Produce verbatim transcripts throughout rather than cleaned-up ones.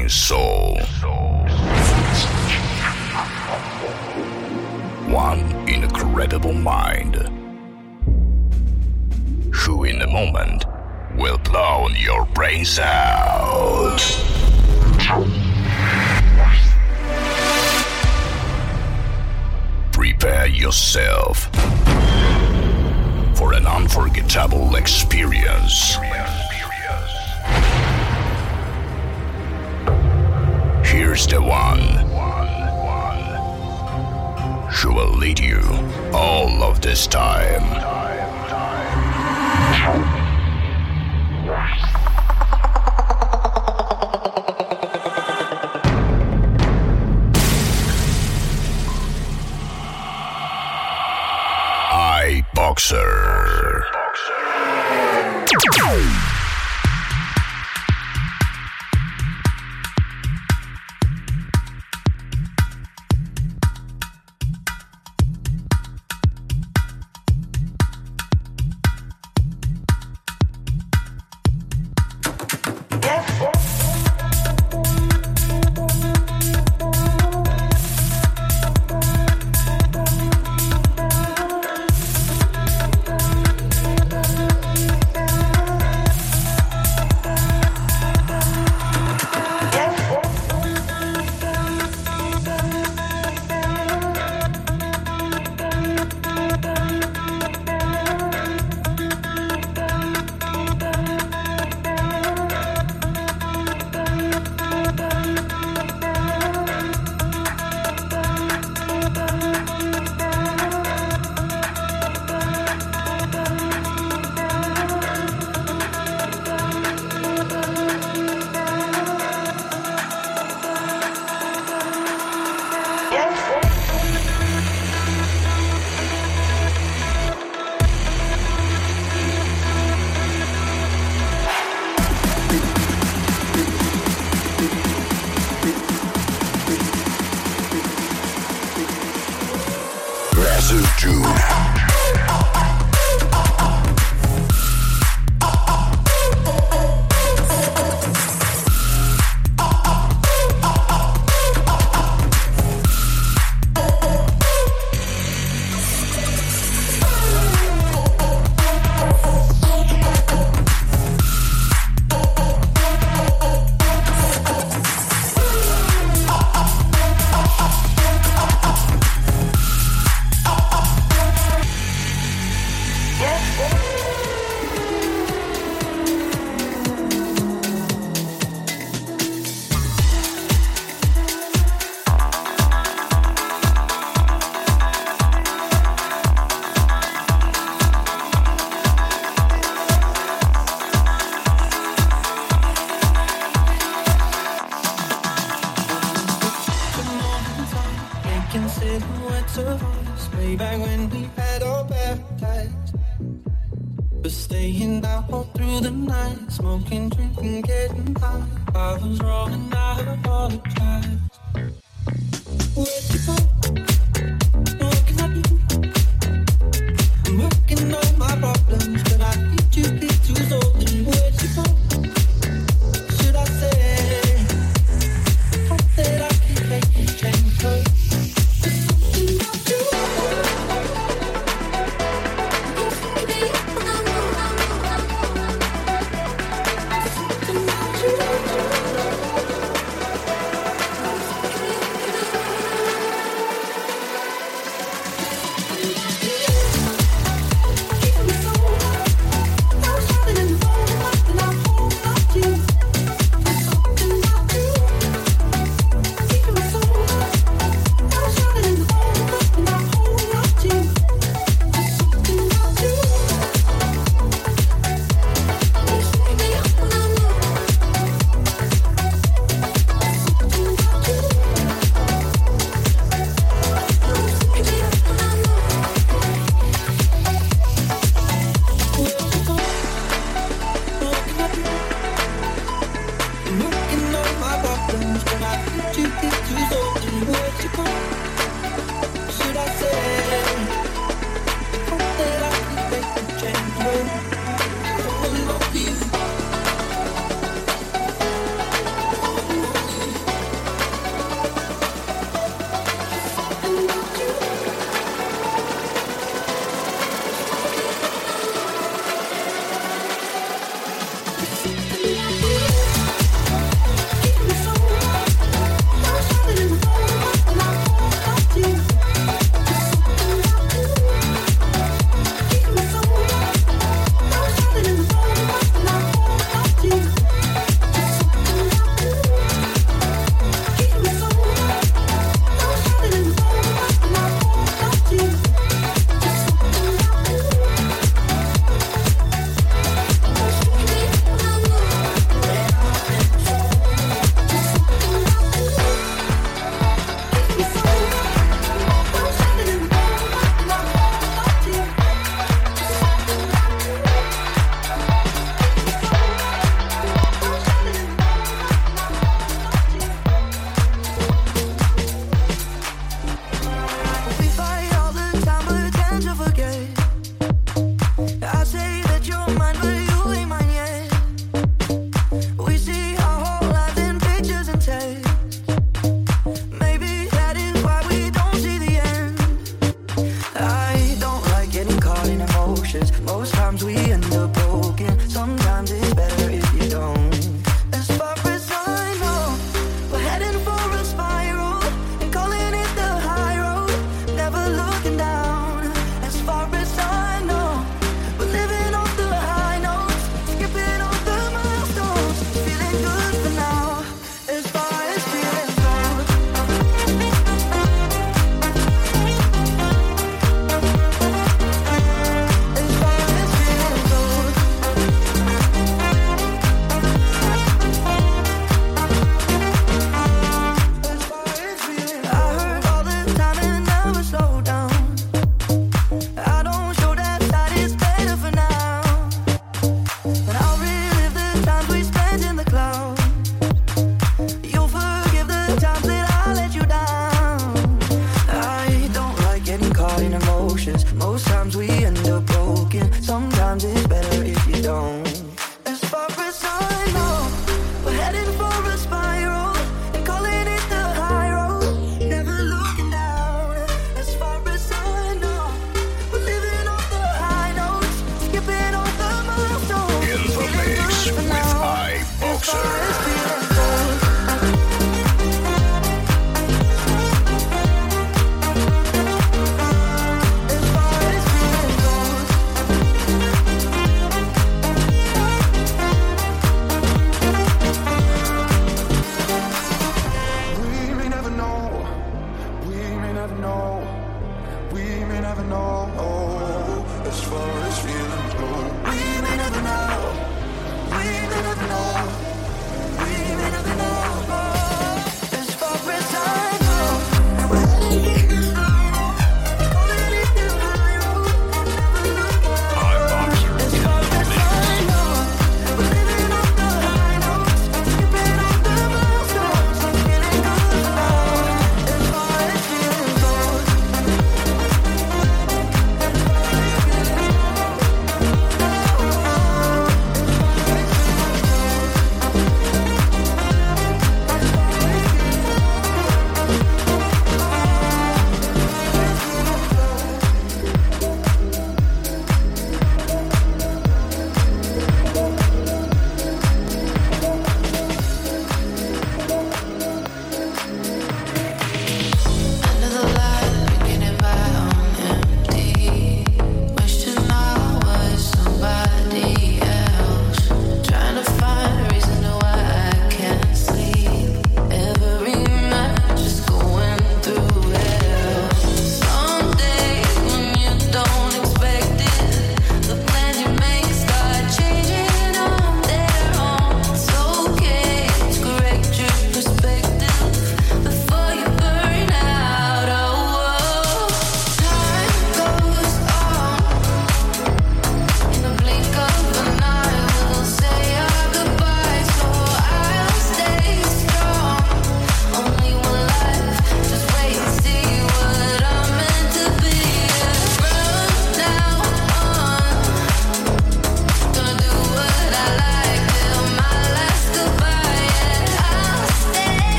raging soul. One incredible mind, who in a moment will blow your brains out. Prepare yourself for an unforgettable experience. Here's the one who will lead you all of this time. iBoxer.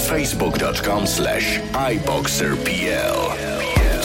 facebook.com slash iboxerpl.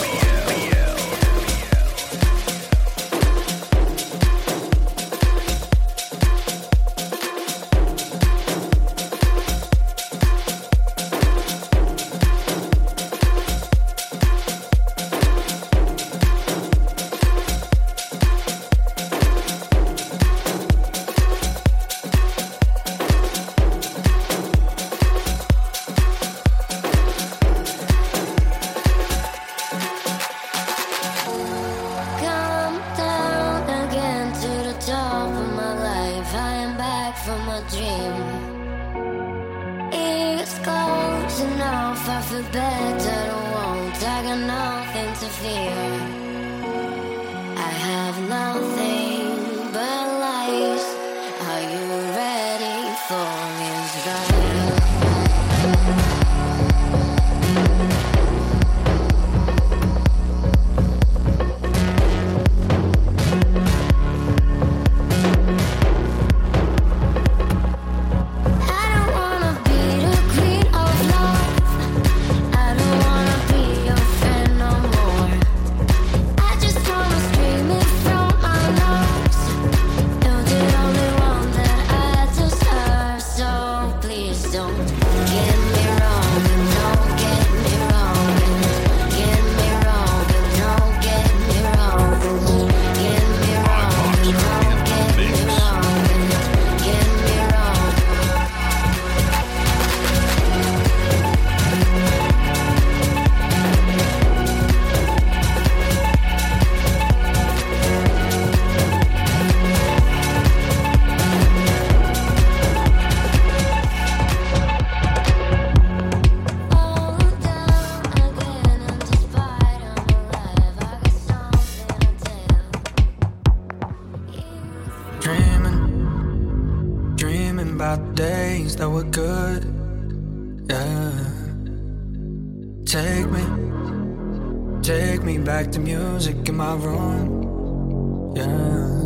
The music in my room, yeah.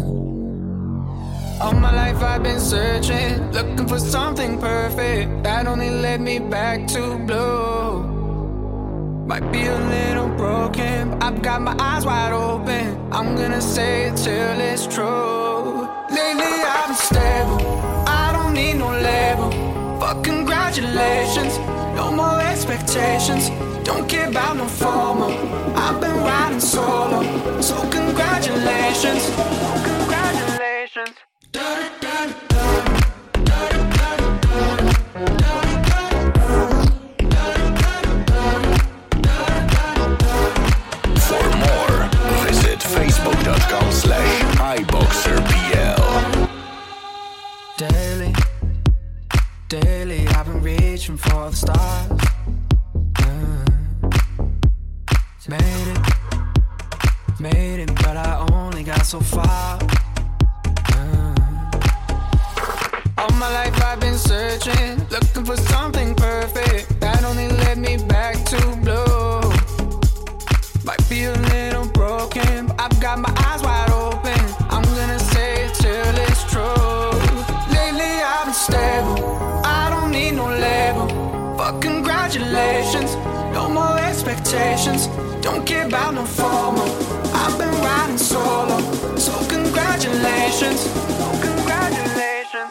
All my life I've been searching, looking for something perfect that only led me back to blue. Might be a little broken, but I've got my eyes wide open. I'm gonna say it till it's true. Lately I've been stable, I don't need no label. Fuck congratulations, no more expectations. Don't care about no formal. I've been riding solo, so congratulations, congratulations. For more, visit facebook.com slash iboxerpl. Daily, daily, I've been reaching for the stars. Made it, made it, but I only got so far. Uh. All my life I've been searching, looking for something perfect that only led me back to blue. Might be a little broken, but I've got my eyes wide open. I'm gonna say it till it's true. Lately I've been stable, I don't need no label. Fuck congratulations, no more expectations. Don't care about no formal. I've been riding solo, so congratulations, congratulations.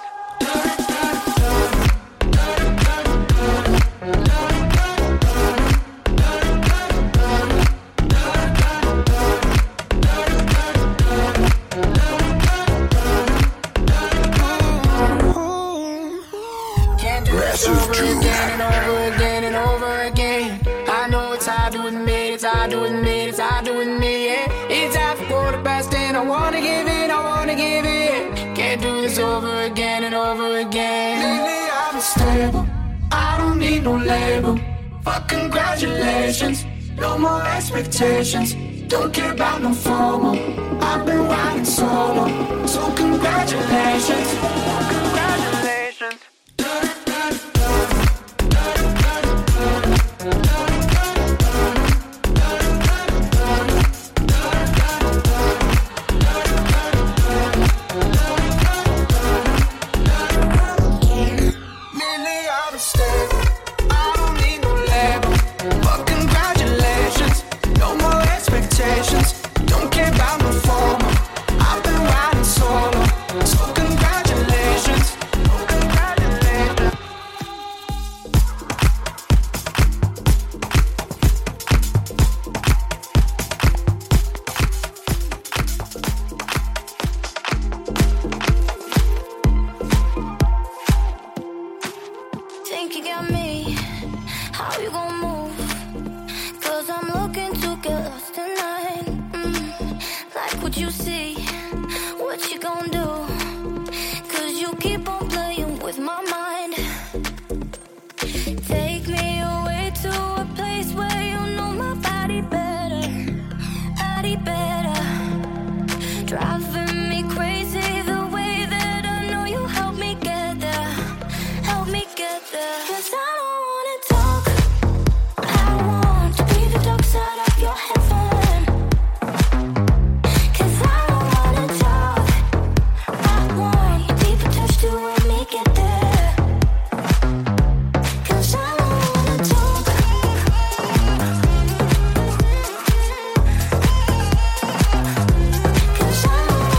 Can't do this over again and over again and over again. I know it's hard to admit, it's hard to admit, it's hard to admit, yeah. It's half a quarter past ten, I wanna give it, I wanna give it. Can't do this over again and over again. Lately I've been stable, I don't need no label. Fuck congratulations, no more expectations. Don't care about no formal. I've been riding solo, so congratulations, congratulations. Lately I've been stable, I don't see what you gon' do. Cause you keep on playing with my mind. Take me away to a place where you know my body better, body better. Driving me crazy the way that I know you help me get there, help me get there. Cause I don't wanna talk, I want to be the dark side of your heaven. Cause I don't wanna talk, I want your deeper touch to help me get there. Cause I don't wanna talk. Cause I don't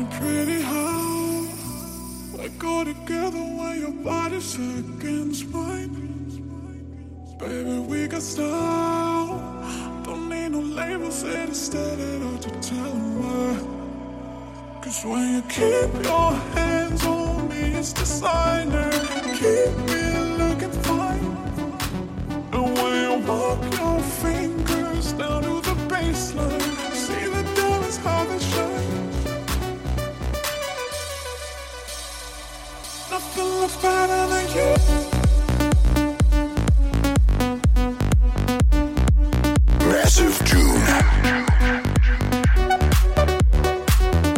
Pretty how I go together when your body's against mine. Baby, we got style. Don't need no labels, it is stated out to tell them why. Cause when you keep your hands on me, it's designer. Keep me looking fine. And when you walk your fingers down to the baseline, see the diamonds how they shine. Nothing looks better than you. Massive Tune.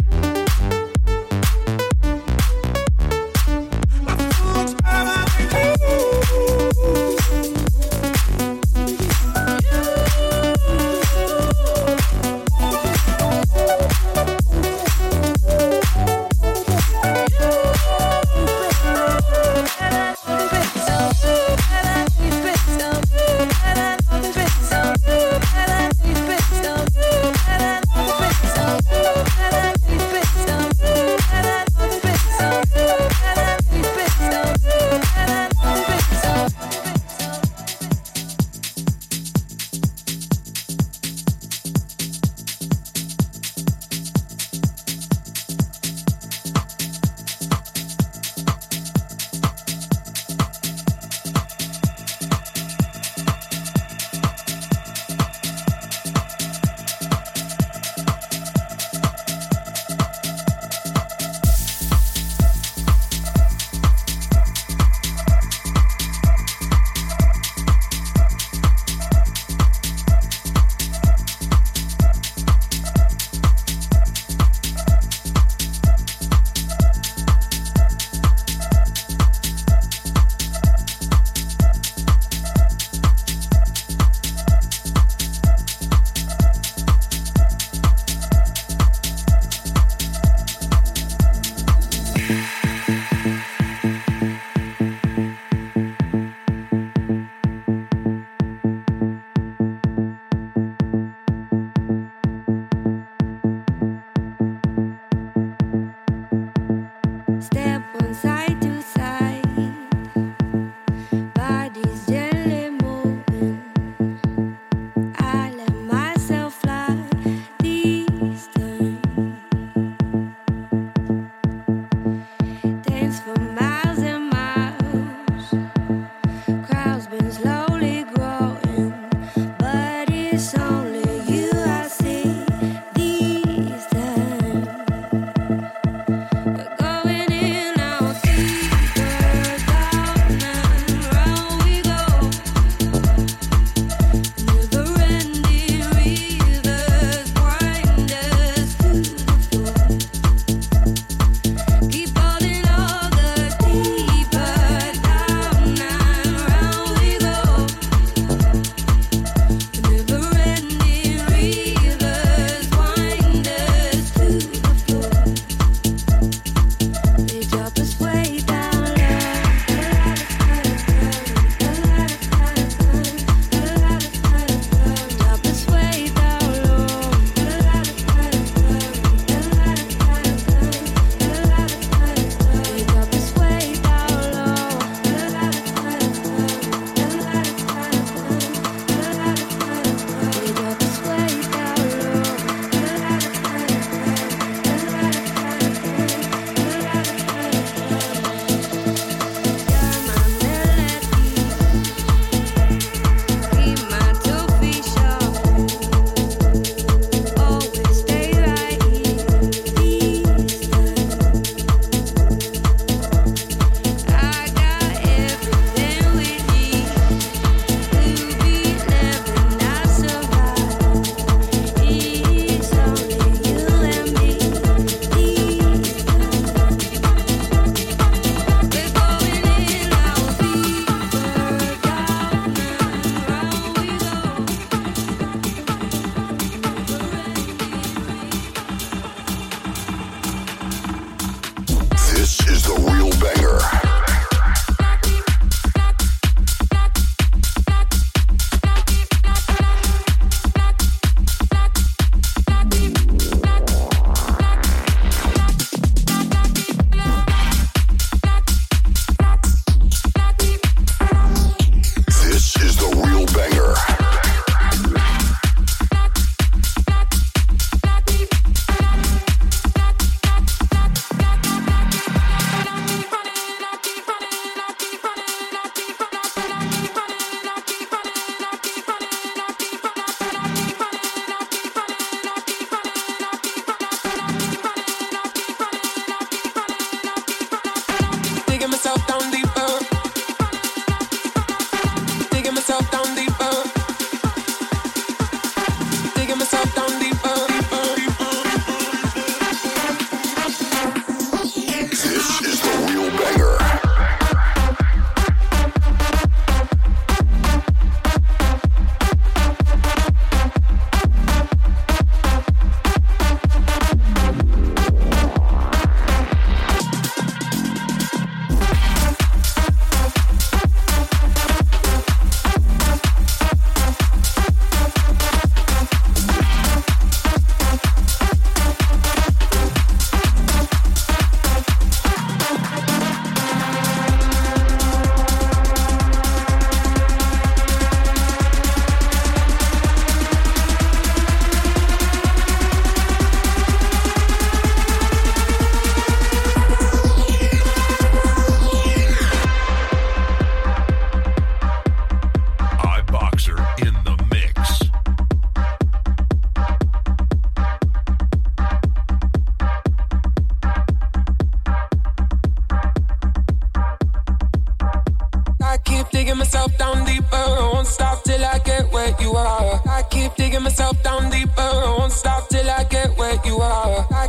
Nothing looks better than you.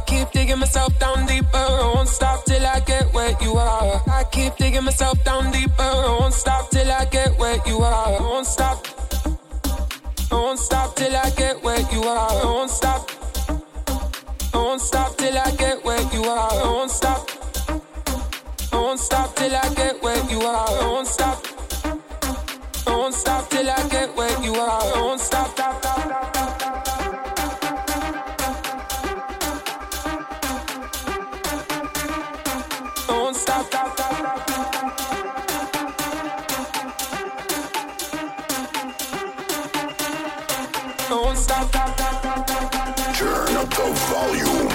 keep digging myself down deeper. I won't stop till I get where you are. I keep digging myself down deeper. I won't stop till I get where you are. I won't stop. I won't stop till I get where you are. I won't stop. I won't stop till I get where you are. I won't stop. I won't stop till I get where you are. I won't stop. I won't stop till I get where you are. I won't stop. Stop, stop, stop, stop, stop. Don't stop, stop, stop, stop, stop. Don't stop, stop, stop, stop, stop. Turn up the volume.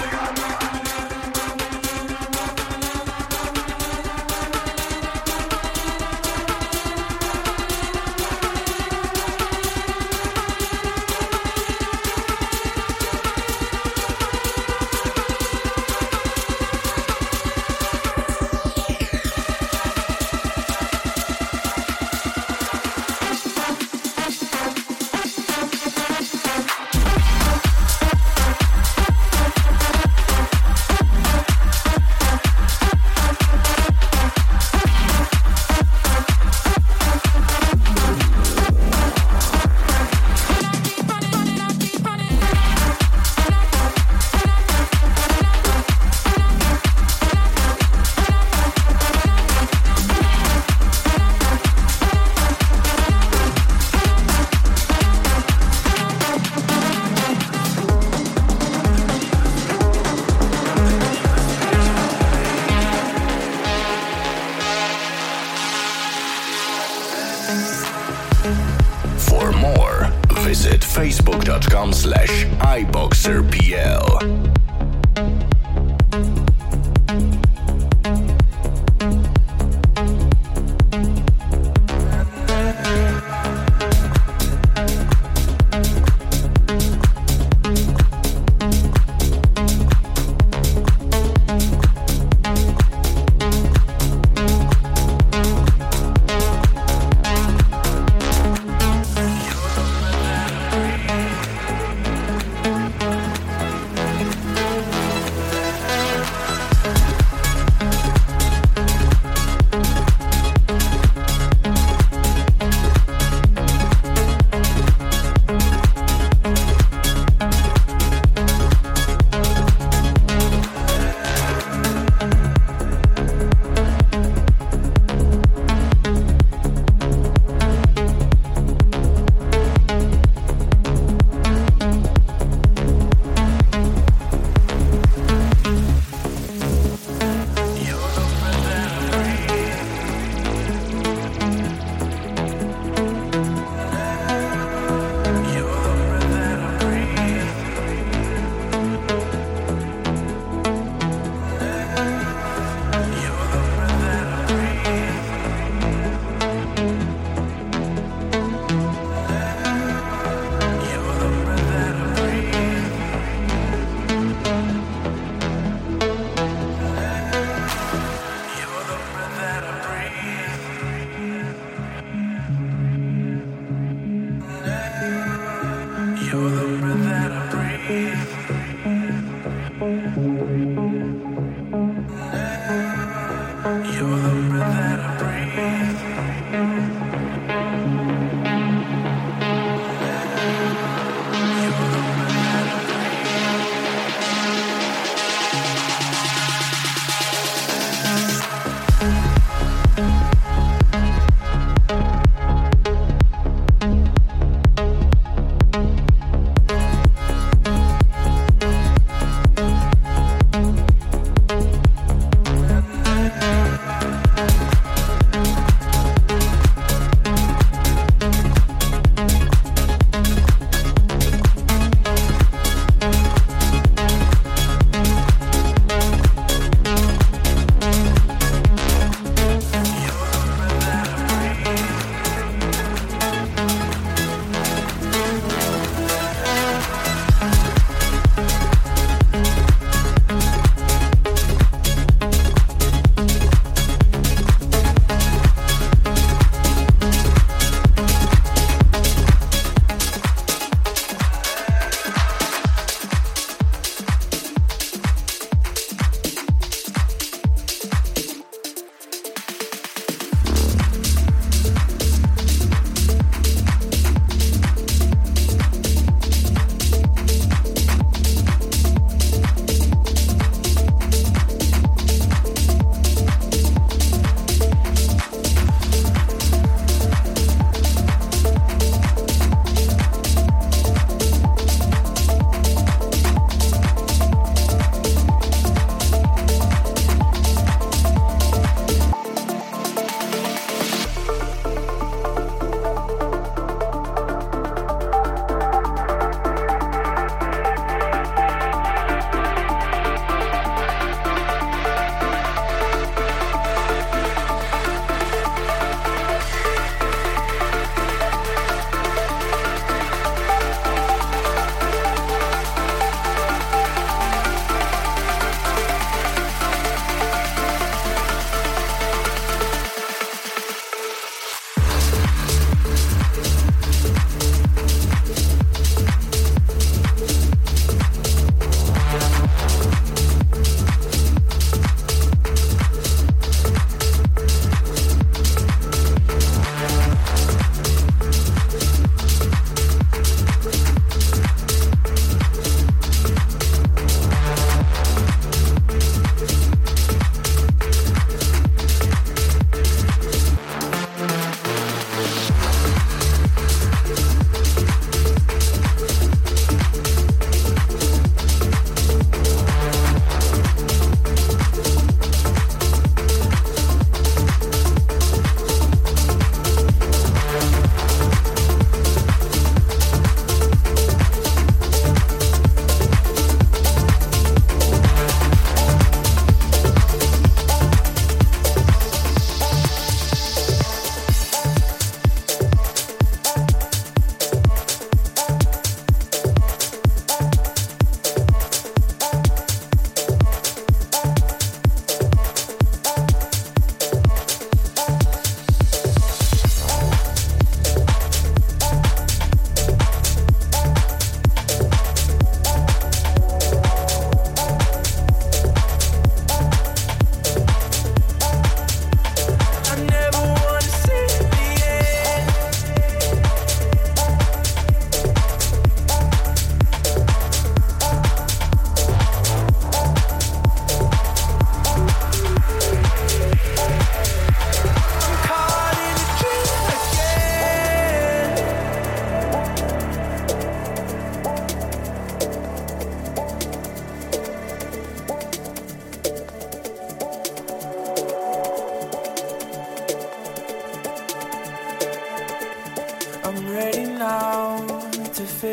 For more, visit facebook.com slash iBoxerPL.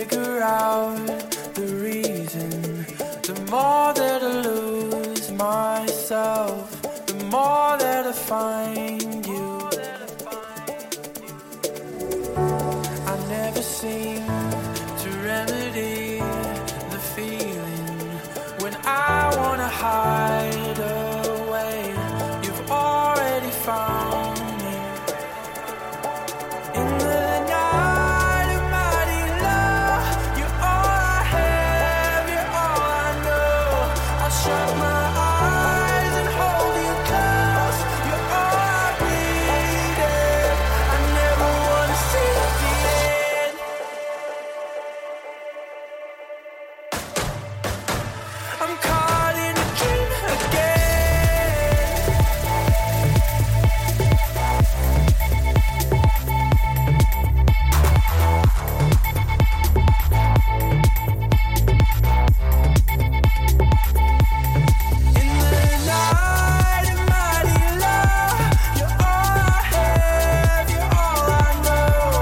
figure out the reason. The more that I lose myself, the more that I find you. I never seem to remedy the feeling when I wanna hide away. You've already found me in the night of mighty love. You're all I have, you're all I know. I'll shut my eyes and hold you close. You're all I needed. I never wanna see the end. I'm caught in a dream again. In the night of mighty love, you're all I have, you're all I know.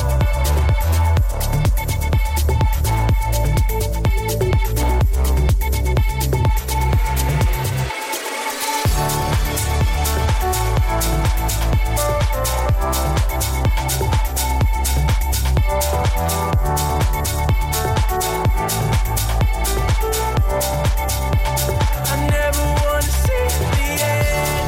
I never wanna see the end.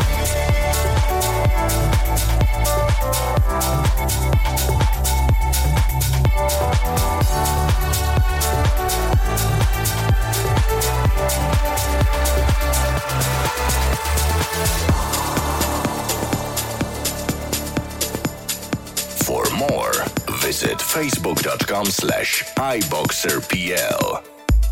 For more, visit facebook.com slash iBoxerPL.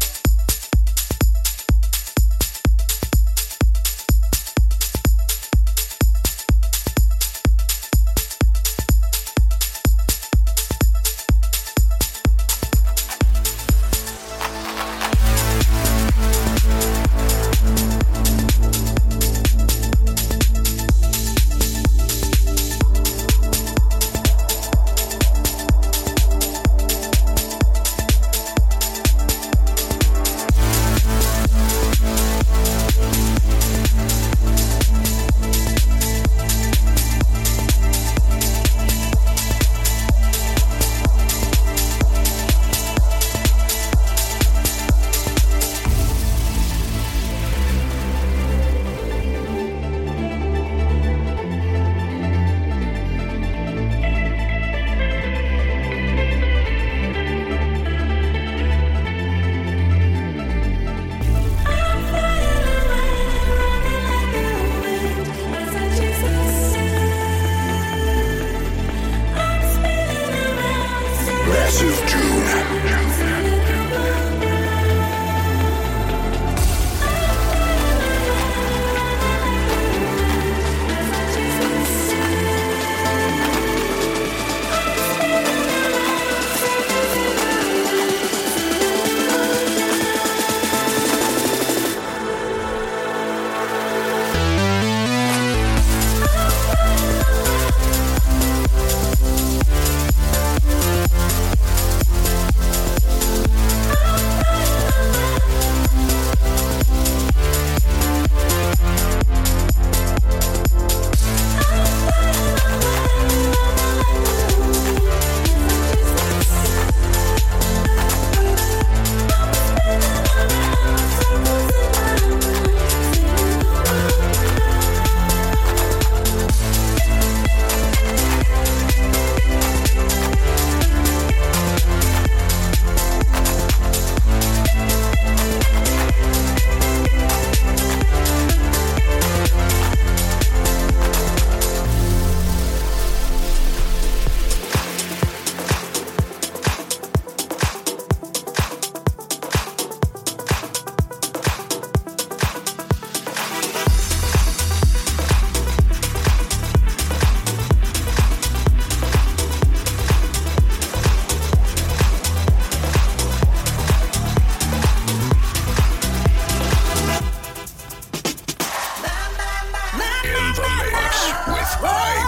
Massive June.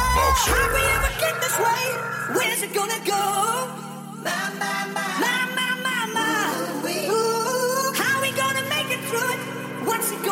How we ever get this way? Where's it gonna go? My, my, my, my, my.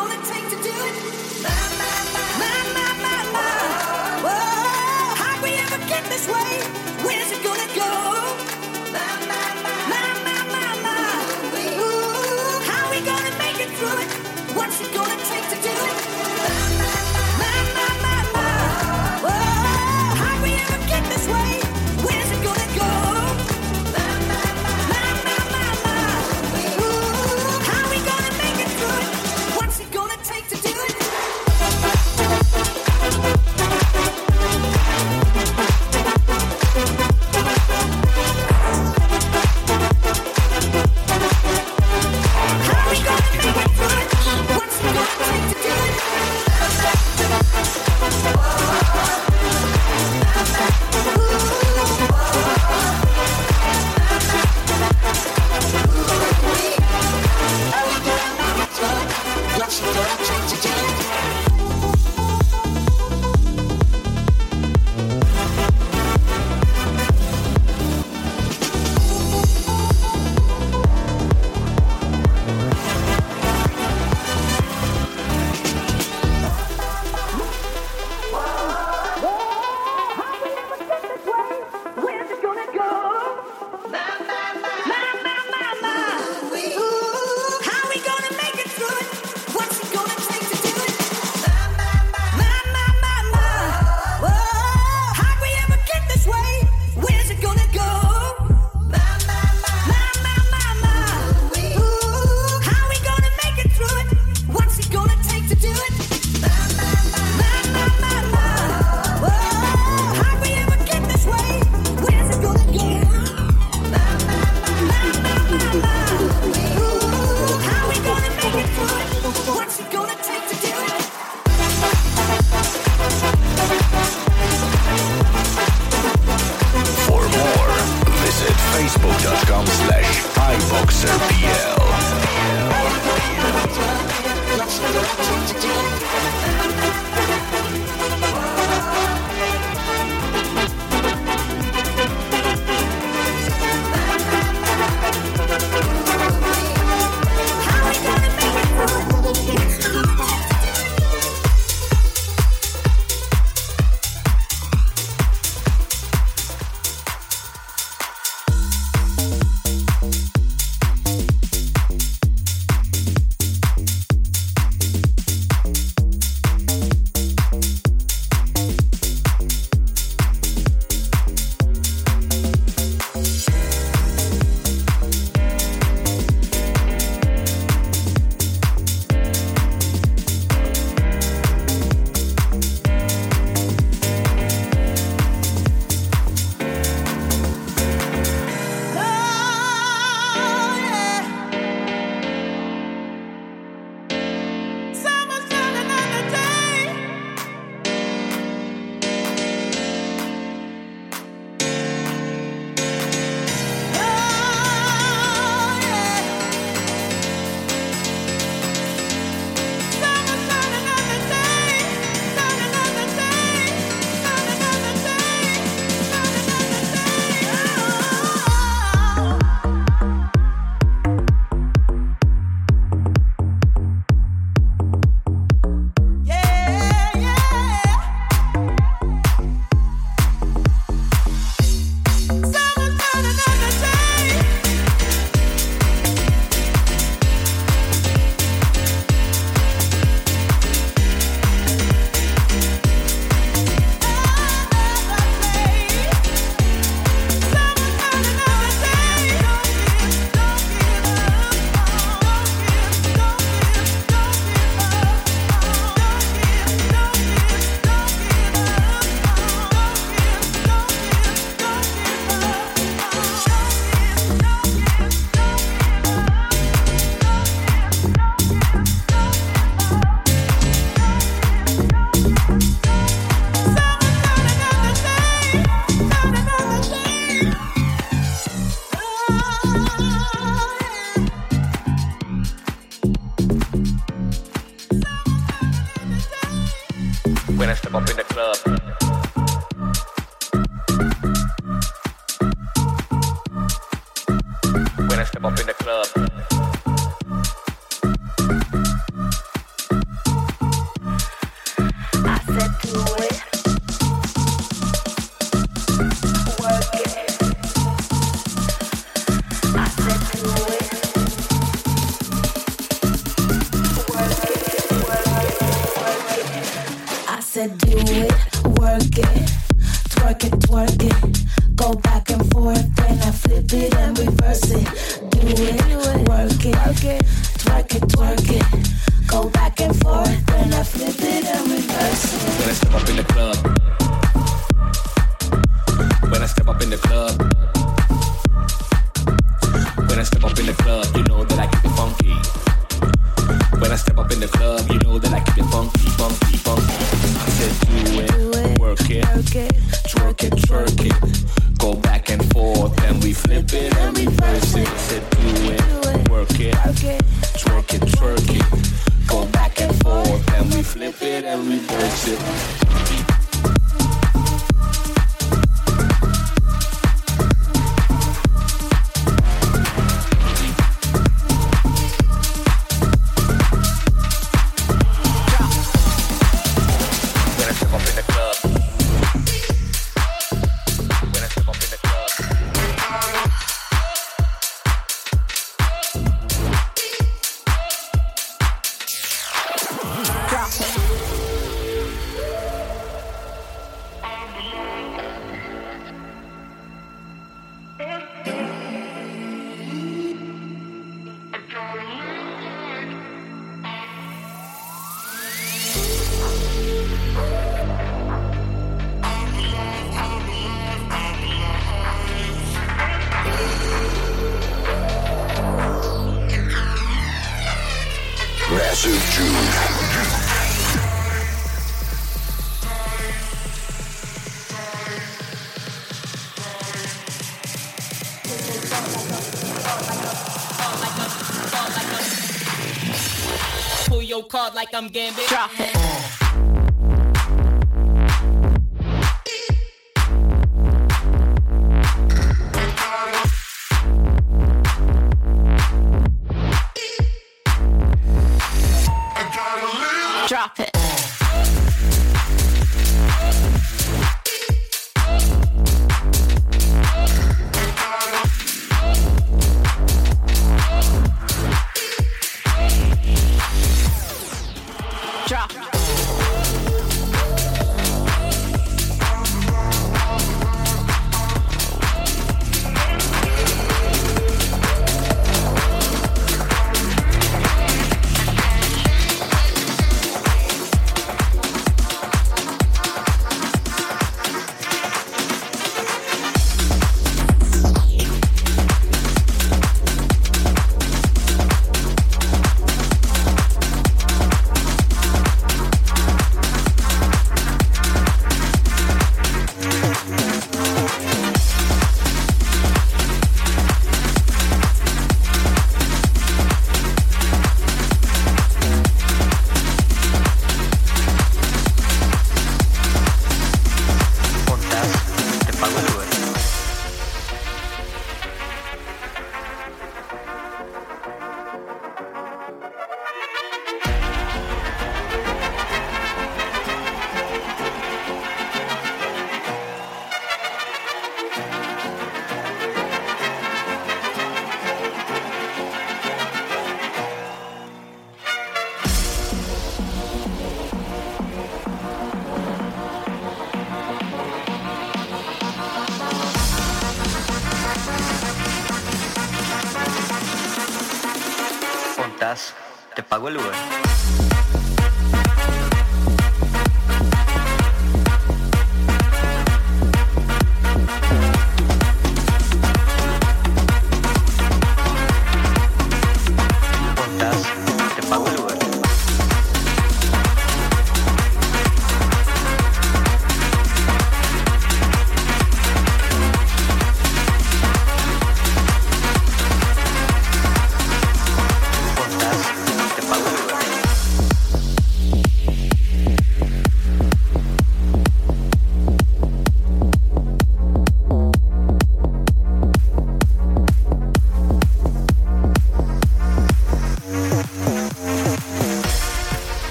When I step up in the club, said do it, work it, twerk it, twerk it. Go back and forth, then I flip it and reverse it. Do it, work it, twerk it, twerk it. Go back and forth, then I flip it and reverse it. When I step up in the club, when I step up in the club, when I step up in the club, you know that I keep it funky. When I step up in the club, you know that I keep it funky, funky, funky. I said do it, do it work it, work it, twerk it, twerk it. Go back and forth, then we flip it and reverse it. I said do it, work it, twerk it, twerk it. Go back and forth, then we flip it and reverse it. Pull your card like I'm Gambit. Drop it. Drop it. Drop. Te pago el Uber. ¿Cuántas? Te pago el Uber. ¿Cuántas? Te pago el Uber.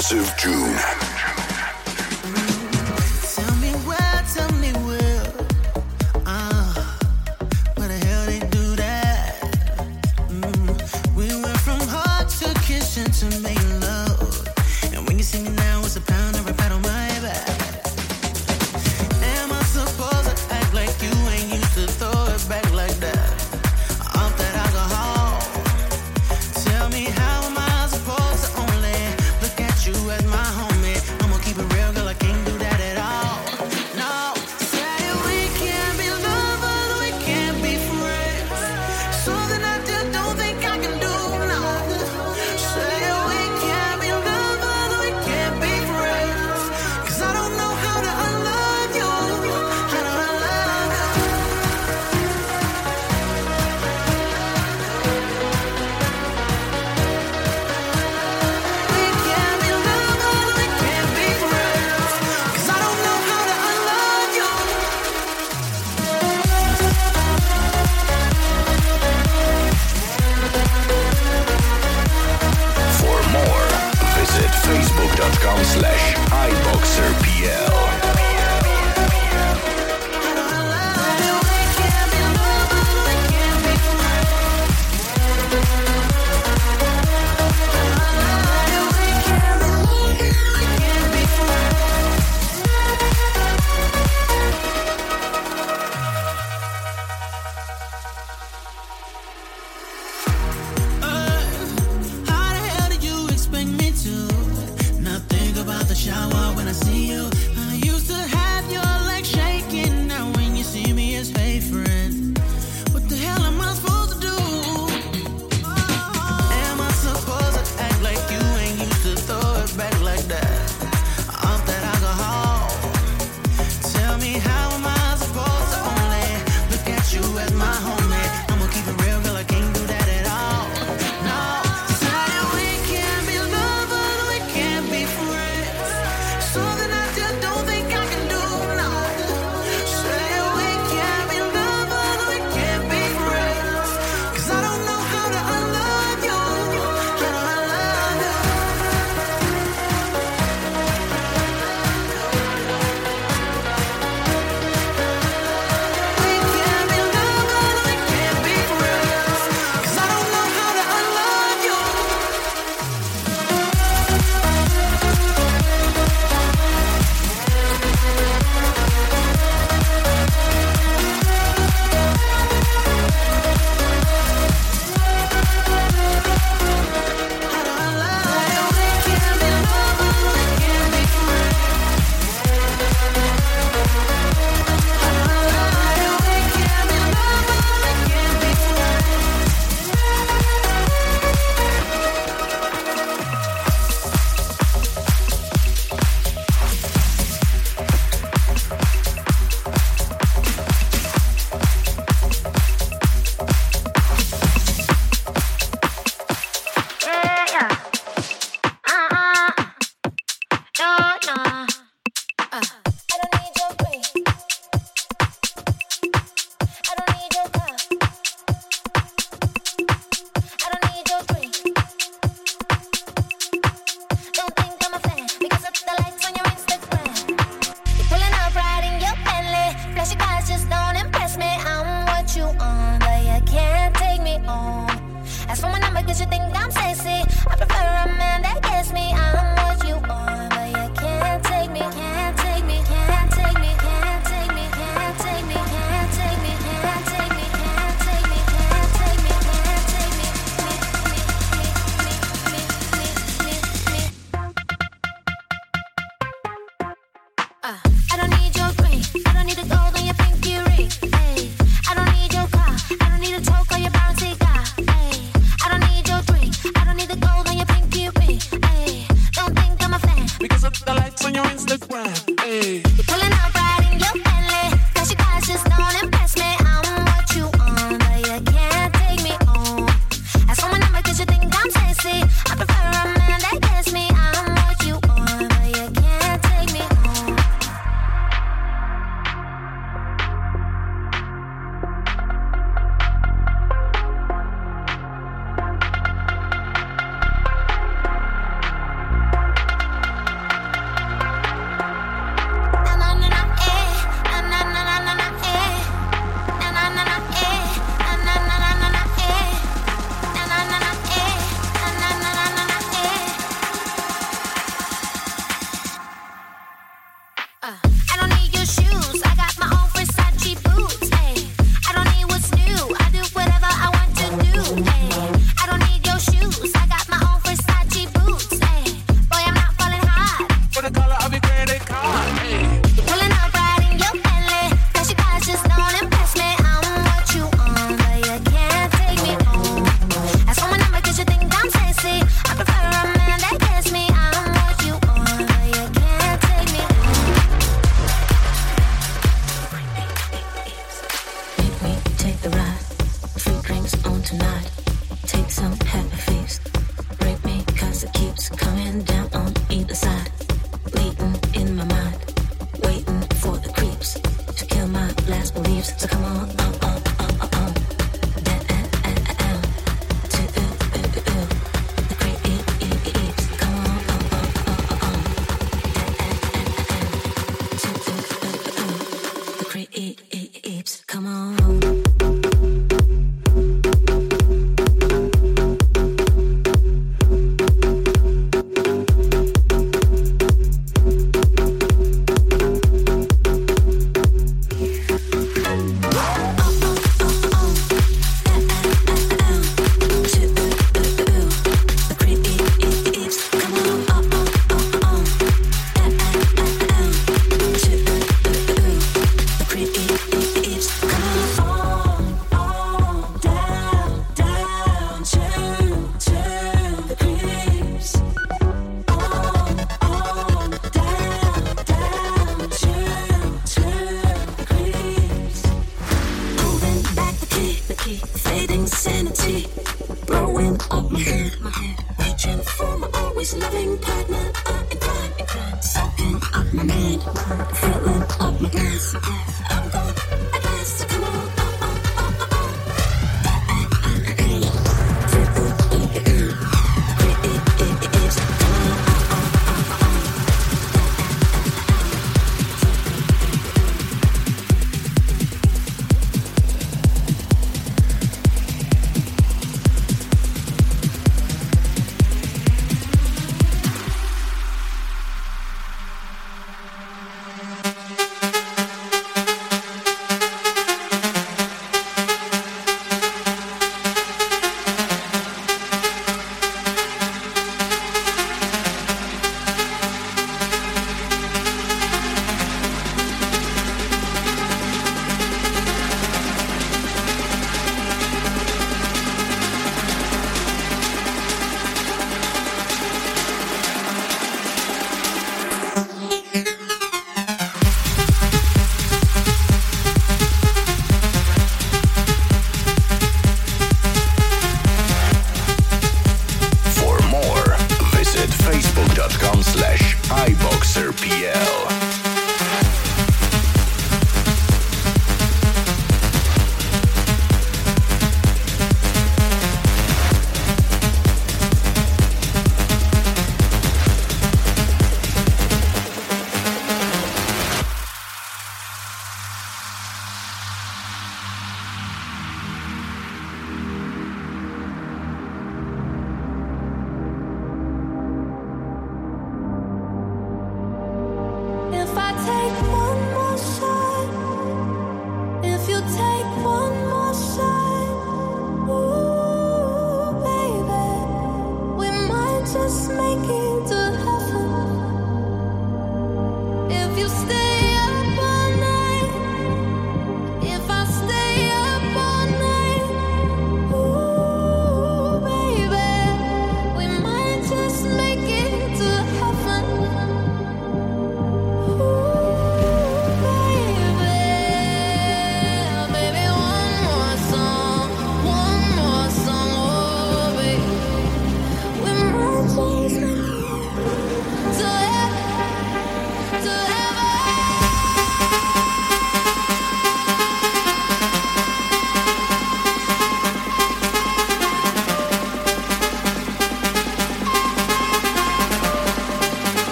Massive June. Tell me where, tell me where. Uh, where the hell they do that? Mm, we went from heart to kitchen to making love. And when you see me now, it's a pound of a pat on my back. Am I supposed to act like you ain't used to throw it back like that? Off that alcohol. Tell me how am I supposed to only look at you as my homie? I'ma keep it real, girl, I can't do that at all. No, say we can't be lovers, we can't be friends. Something I just don't think I can do, no. Say we can't be lovers, we can't be friends. Cause I don't know how to unlove you, how to unlove you. We can't be lovers, we can't be friends. Cause I don't know how to unlove you. For more, visit facebook.com slash iBoxerPL. How the hell do you expect me to not think about the shower when I see you? I used to have your legs shaking. Now when you see me, it's hey friend. What the hell am I supposed to do? Am I supposed to act like you ain't used to throw it back like that? Off that alcohol. Tell me how am I supposed to only look at you as my homie? I'ma keep it real, girl, I can't do that at all. No, say we can't be lovers, we can't be friends. Something I just don't think I can do, no. Say we can't be lovers, we can't be friends. Cause I don't know how to unlove you, how to unlove you. We can't be lovers, we can't be friends. Cause I don't know how to unlove you. How to unlove you. We can't be lovers, we can't be friends. How to unlove you. We can't be lovers, we can't be friends. Yeah, uh-uh. No, no. Uh. I don't need your ring. I don't need your car. I don't need your drink. Don't think I'm a fan because of the likes on your Instagram. You're pulling up right in your Bentley. Flashy cars just don't impress me. I'm what you on, but you can't take me home. Ask for my number cause you think I'm sexy. I prefer a man that gets me. I'm what you want, but you can't take me, can't take me, can't take me, can't take me, can't take me, can't take me, can't take me, can't take me, can't take me, can't take me, Uh, I don't need your ring. I don't need the gold on your pinky ring. Ay, I don't need your car. I don't need a toke or your bouncy car. Ay, I don't need your drink. I don't need the gold on your pinky ring. Ay, don't energy, fading sanity, blowing up my head, my head, reaching for my always loving partner. I'm inclined, inclined, soaking up my mind, filling up my glass. I'm gone at last, so come on, oh, oh, oh, oh, oh.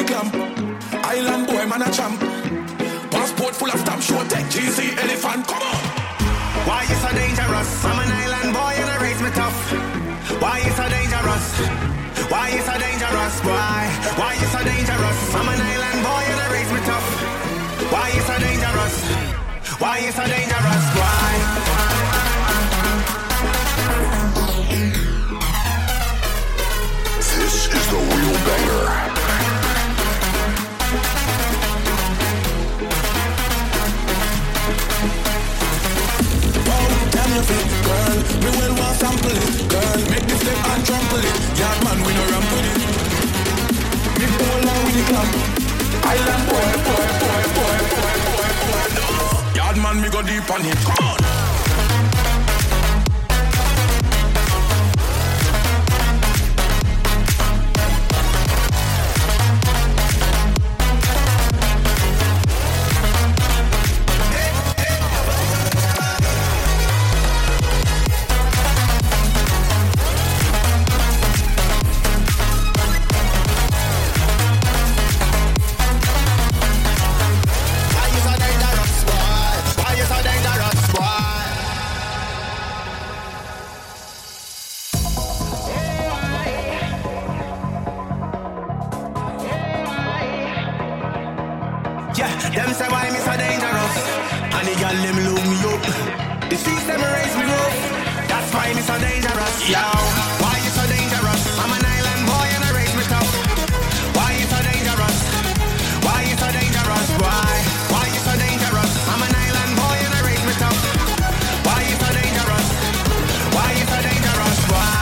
the clamp. Island boy, man a champ. Passport full of stamp, show tech, G C, elephant, come on. Why you so dangerous? I'm an island boy and I raise me tough. Why you so dangerous? Why you so dangerous? Why? Why you so dangerous? I'm an island boy and I raise me tough. Why you so dangerous? Why you so dangerous? Why? This is the real banger. Girl, we will want sample it. Girl, make this step and trample it. Yard man, we no ramp with it. Me pull on with the clamp. Island boy, boy, boy, boy, boy, boy, boy, no. Yard man, me go deep on it. Come on. Them say why me so dangerous, and the girl them look me up. The streets them raise me up. That's why me so dangerous. Yo, why you so dangerous? I'm an island boy and I raise me tough. Why you so dangerous? Why you so dangerous? Why? Why you so dangerous? I'm an island boy and I raise me tough. Why you so dangerous? Why you so dangerous? Why?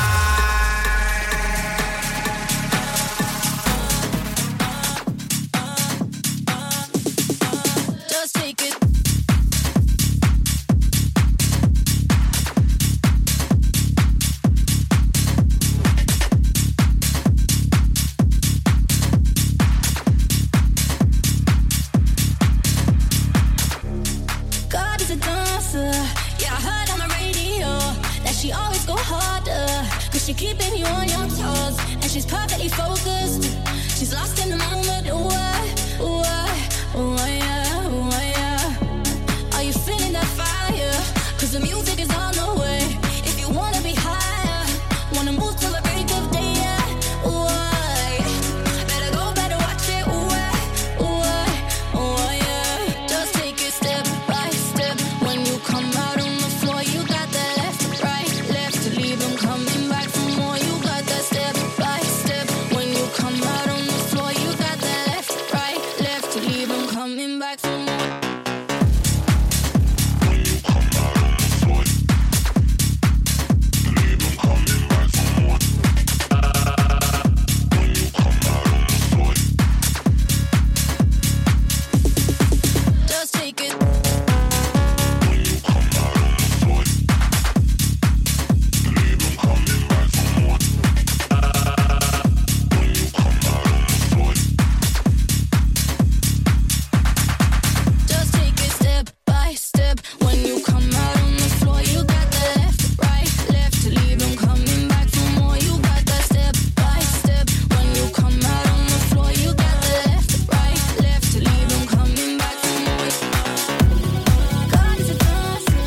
Keeping you on your toes, and she's perfectly focused. She's lost in the moment. Ooh, I, ooh, I, ooh, I, yeah, ooh, I, yeah. Are you feeling that fire? Cause the music is on the way. If you wanna be higher, wanna move till the break of day, yeah. Ooh, I, better go, better watch it. Ooh, I, ooh, I, ooh, I, yeah. Just take it step by step. When you come out on the floor, you got that left, right, left to leave them coming back. Step by step, when you come out on the floor, you got that left, right, left to leave them coming back for more. When you come out on the floor, leave them coming back for more. When you come out on the floor, just take it. When you come out on the floor, leave them coming back for more. Just take it step by step. When you come out on the floor, you got the left, right, left to leave them coming back for more. You got that step by step. When you come out on the floor, you got the left, right, left to leave them coming back for more. God is a dancer.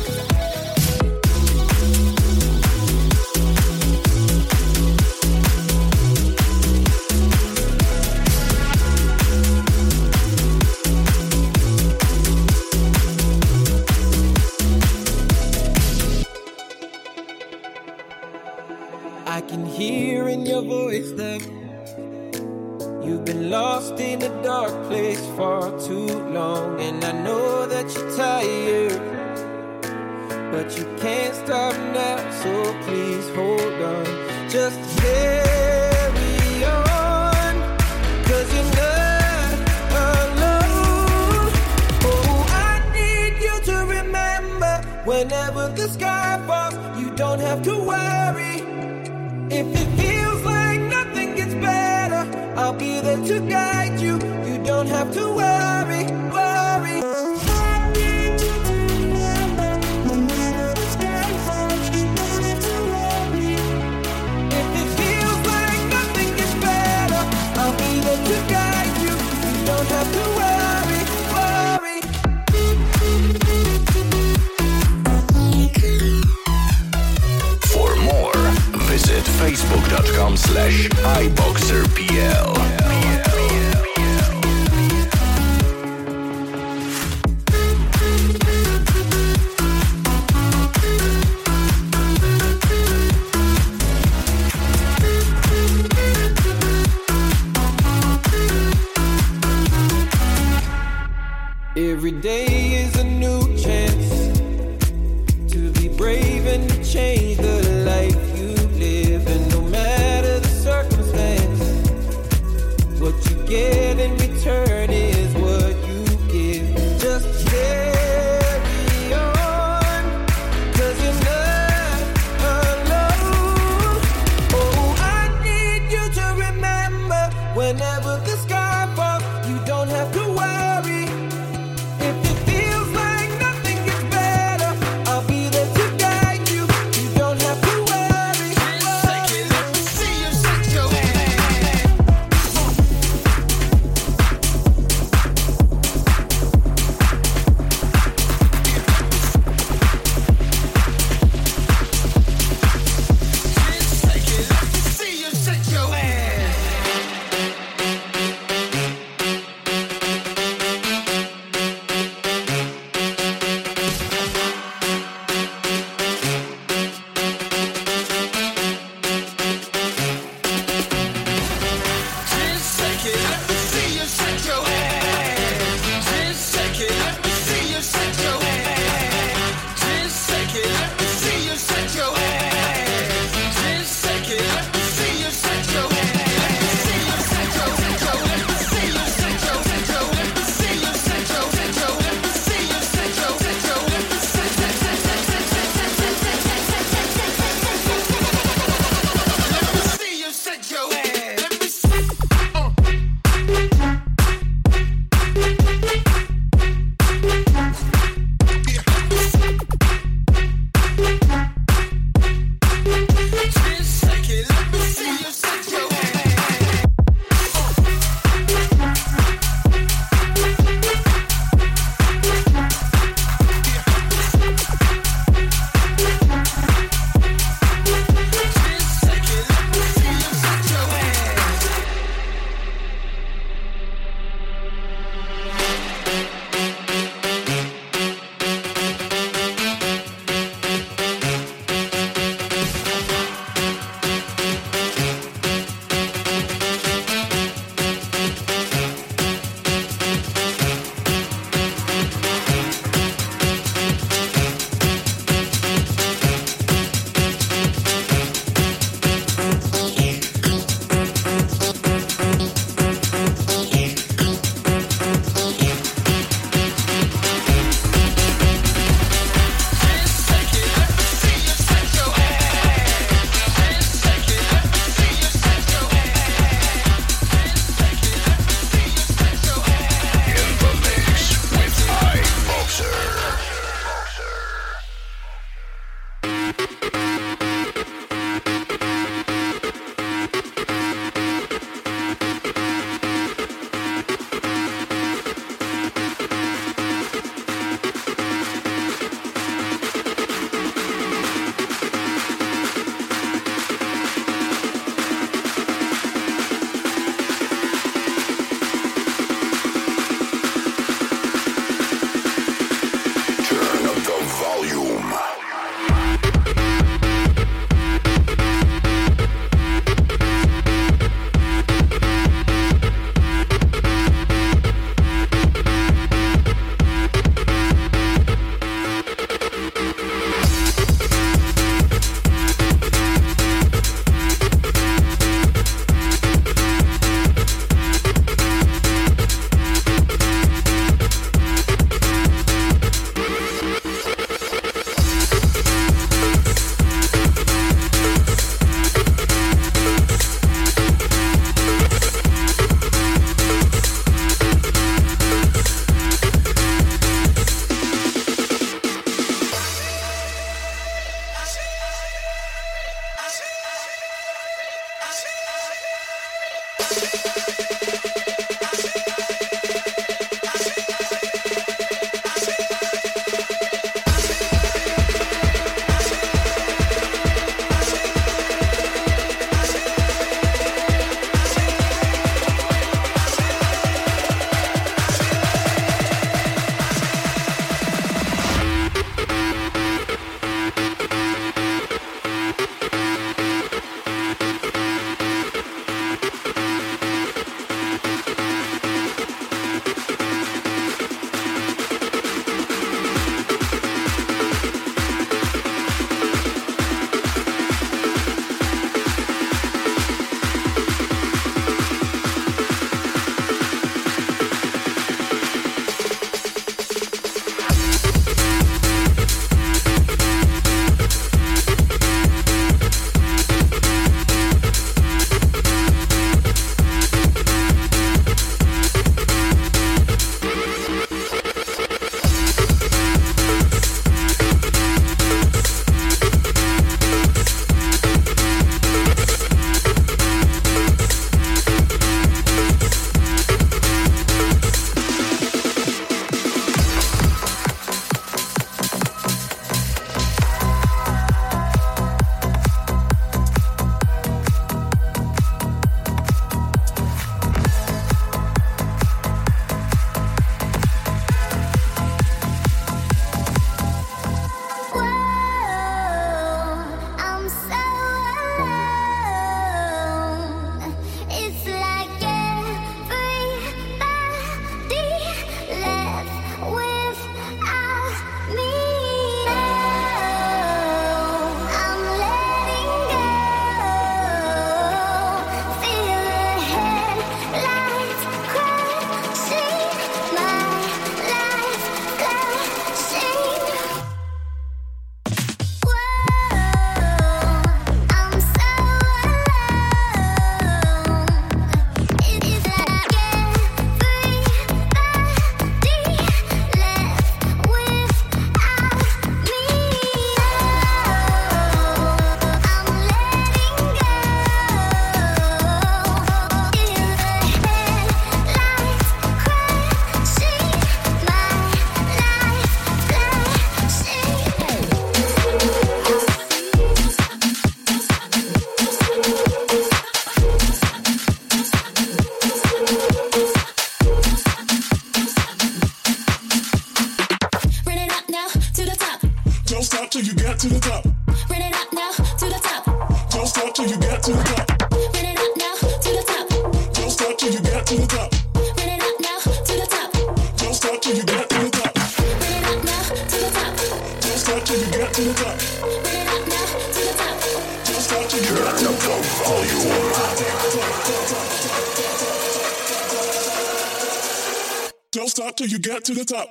I can hear in your voice that you've been lost in a dark place for too long. And I know that you're tired, but you can't stop now, so please hold on. Just carry on, cause you're not alone. Oh, I need you to remember, whenever the sky falls, you don't have to worry. If it feels like nothing gets better, I'll be there to guide you. You don't have to worry, worry. If it feels like nothing gets better, I'll be there to guide you. Every day is a new chance to be brave and to change the life you live. And no matter the circumstance, what you get in return is what you give. Just carry on, 'cause you're not alone. Oh, I need you to remember, whenever the sky falls, you don't have to worry. If it feels like nothing gets better, I'll be there to guide you. You don't have to worry. Shake it, let me see you shake your ass. Shake it, let me see you shake your ass. get to the top. Run it up now to the top. Don't stop till you get to the top. Run it up now to the top. Don't stop till you get to the top. Run it up now to the top. Don't stop till you get to the top. Run it up now to the top. Don't stop till you get to the top. Run it up now to the top. Don't stop till you get to the top. Don't stop till you get to the top.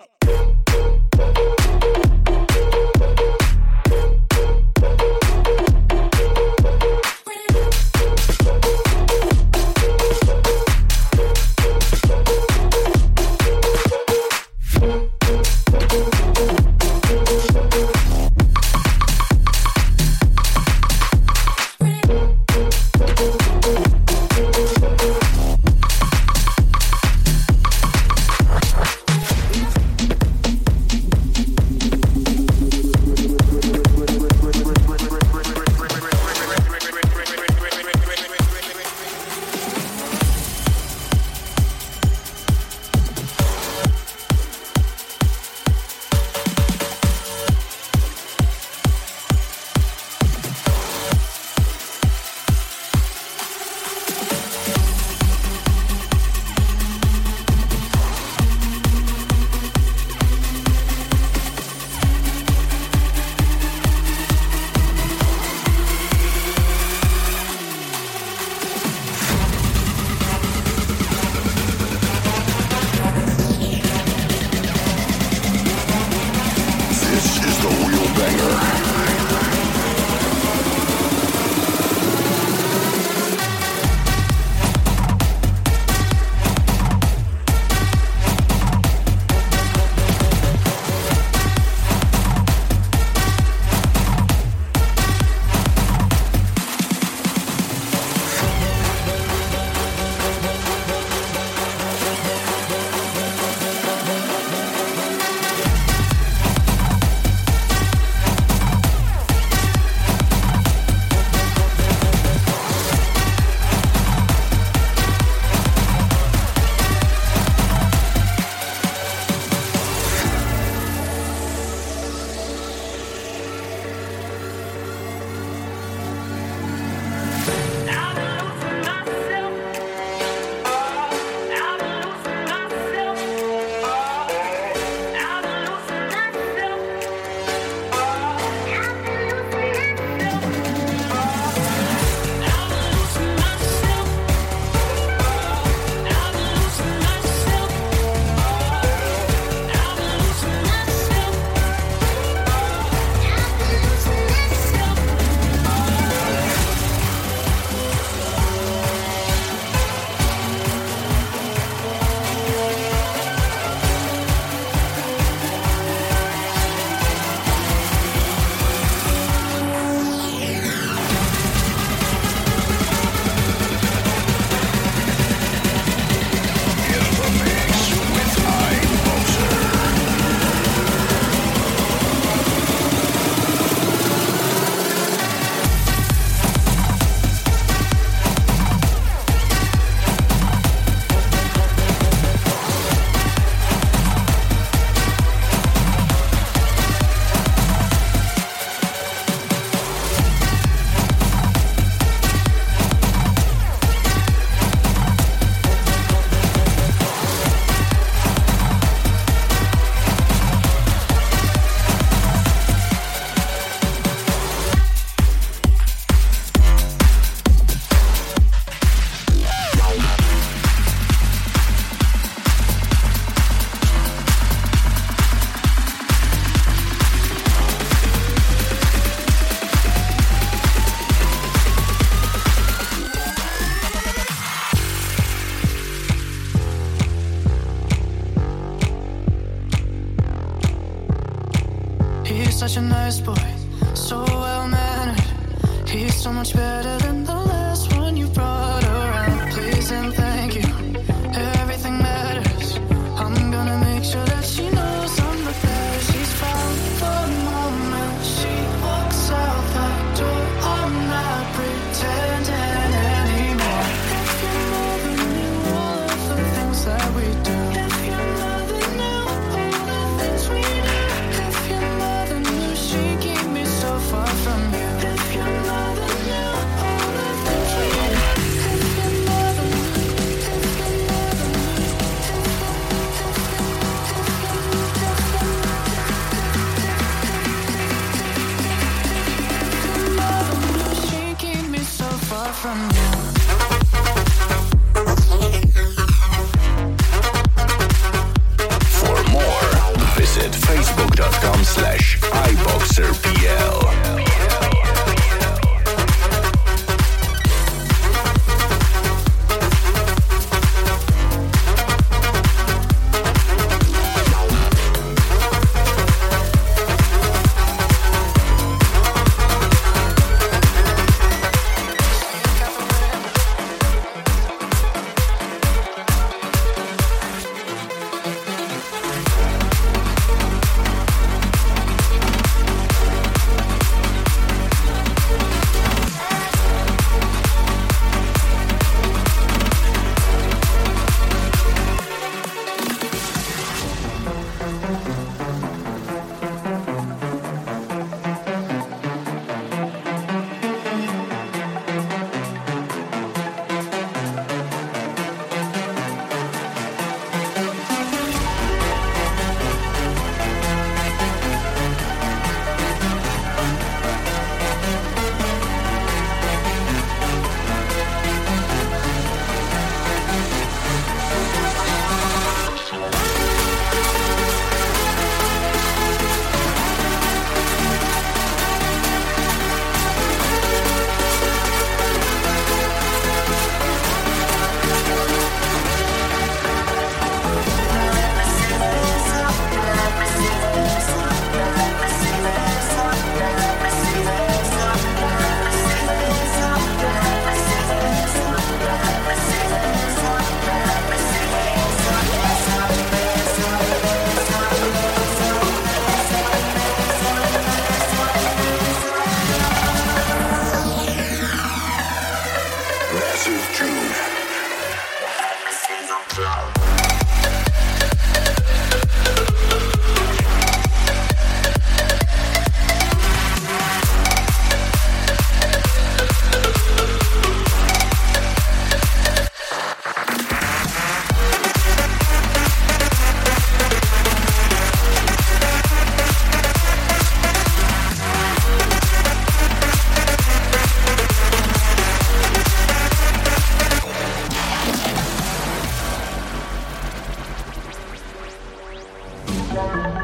such a nice boy, so well-mannered. He's so much better than the last one you brought around. Please and thank you, everything matters. I'm gonna make sure that she knows I'm the best. She's found the moment she walks out that door. I'm not pretending anymore. If you never knew all of the things that we do, if you never knew all the things we do, if you never knew she keep me so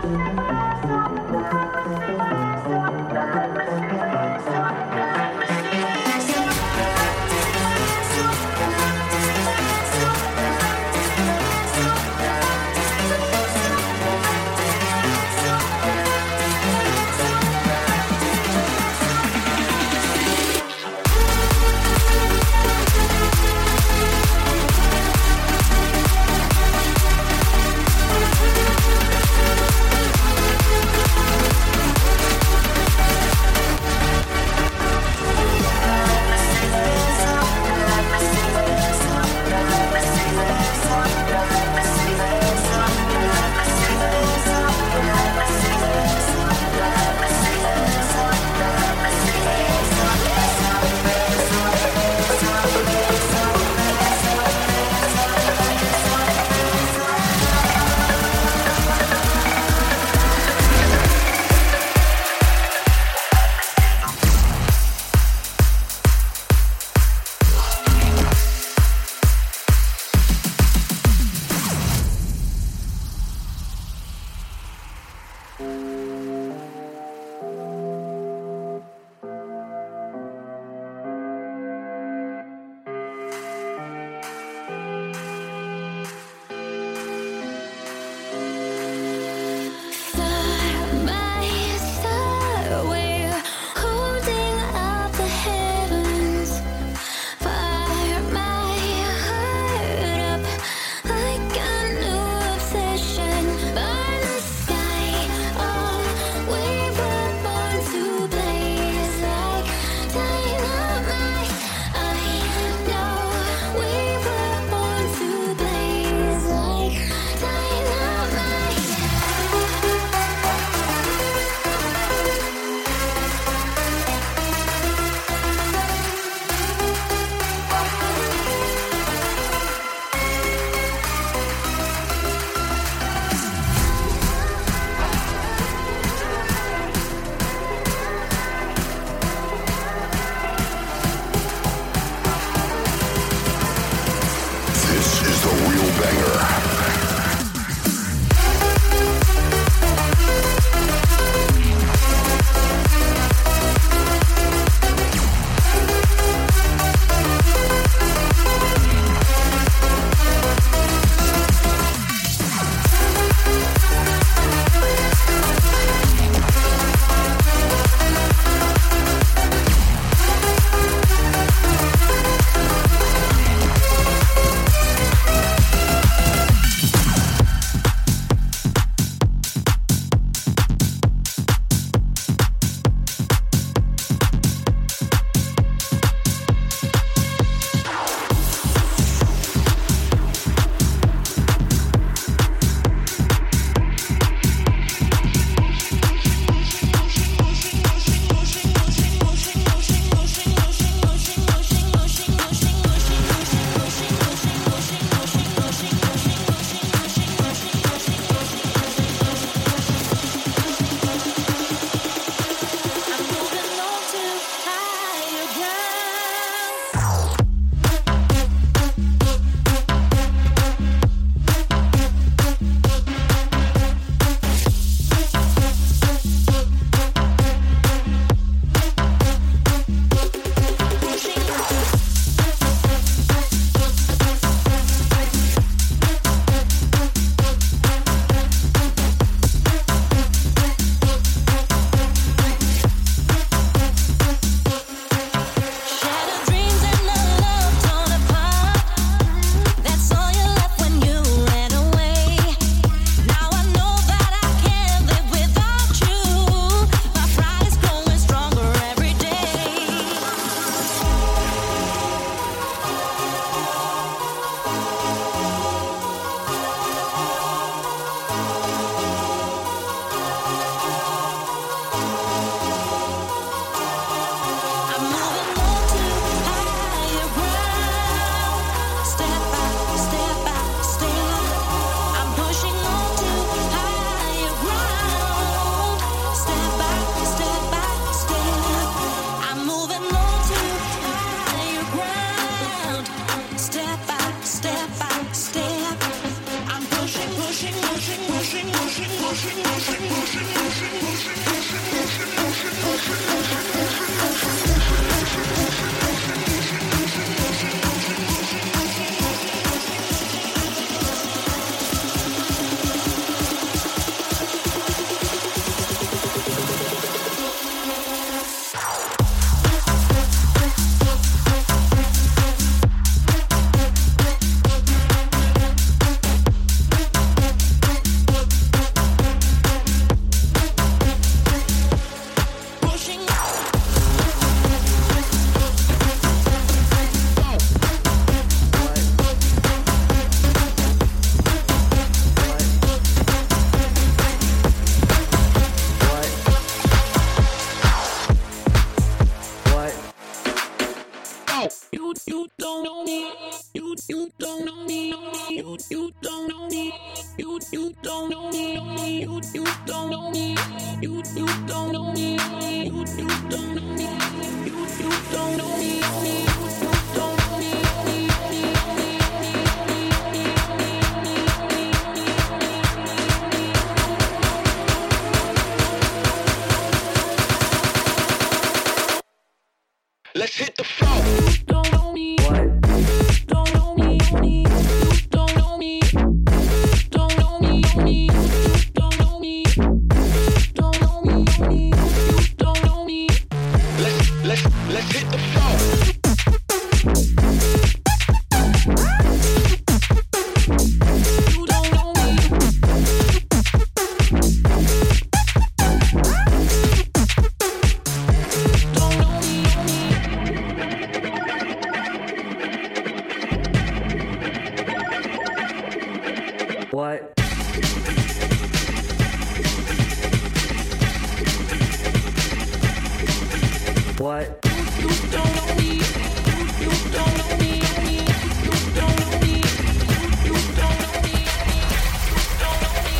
We'll be right back. you don't know me. You, you don't know me. You, you don't know me. Let's hit the floor. Don't know me. What? Don't know me. Don't know me. Don't know me. Don't know me. Don't know me. Don't know me. Let's let's let's hit the floor. You don't know me. Don't know me. What? What? You don't know me. You don't know me. You don't know me. You don't know me. Don't know me.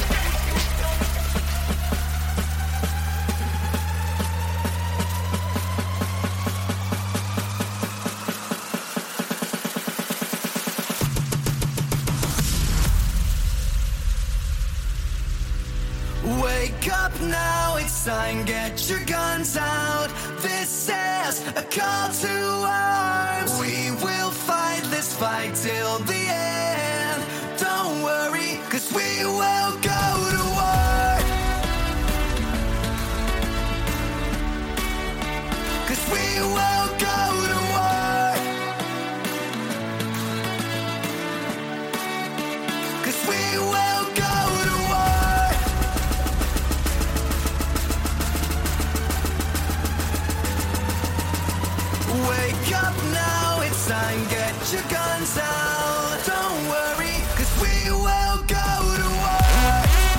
Wake up now, it's time, get your guns out. This is a call to arms. We will fight this fight till the end. Don't worry, cause we will go to war. Cause we will go to war. Cause we will go to war. Wake up now, it's time, get your guns out. Don't worry, cause we will go to war.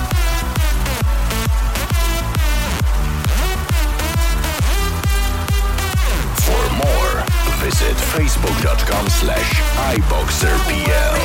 For more, visit facebook.com slash iBoxerPL.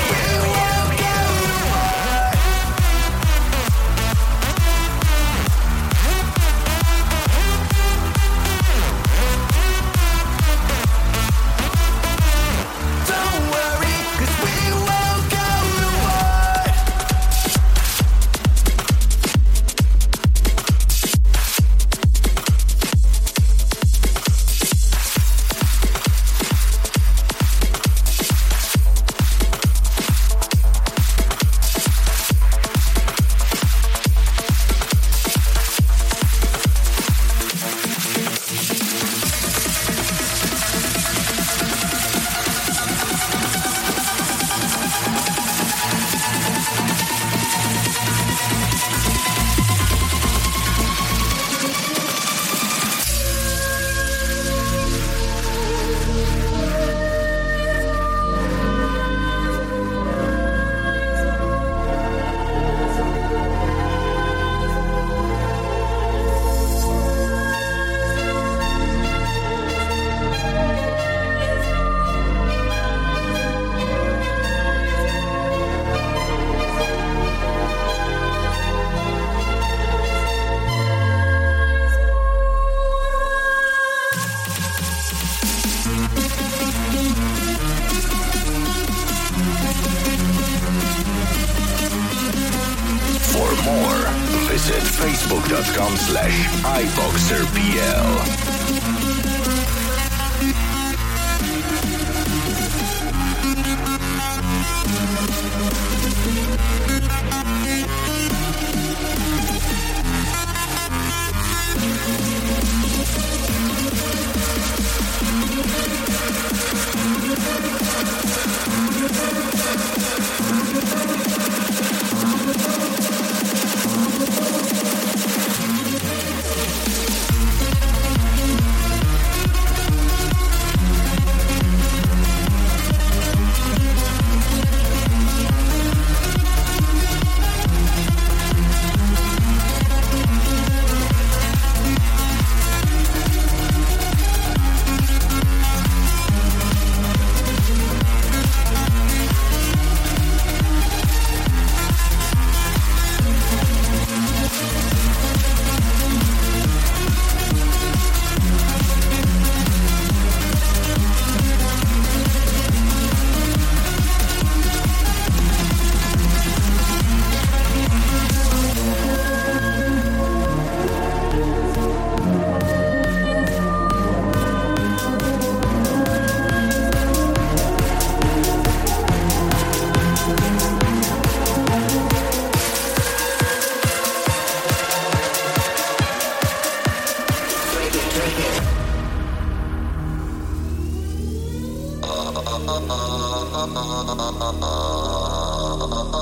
Visit facebook.com slash iBoxerPL.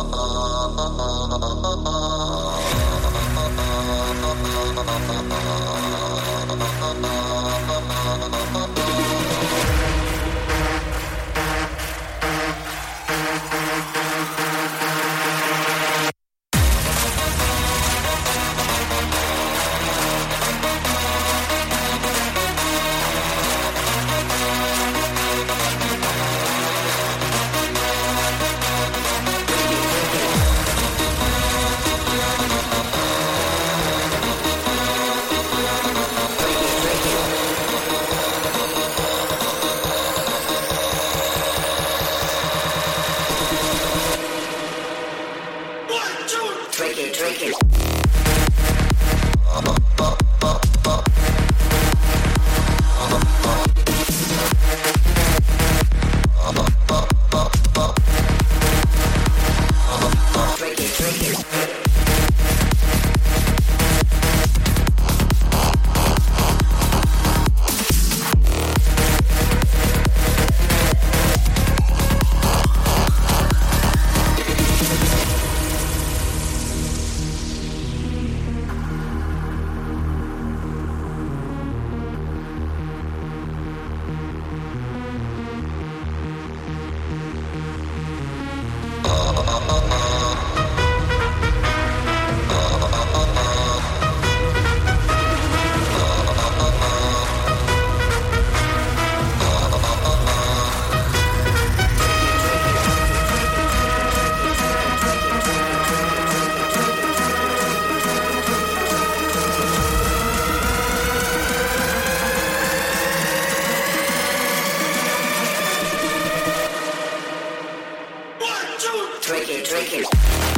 Drink it, drink it.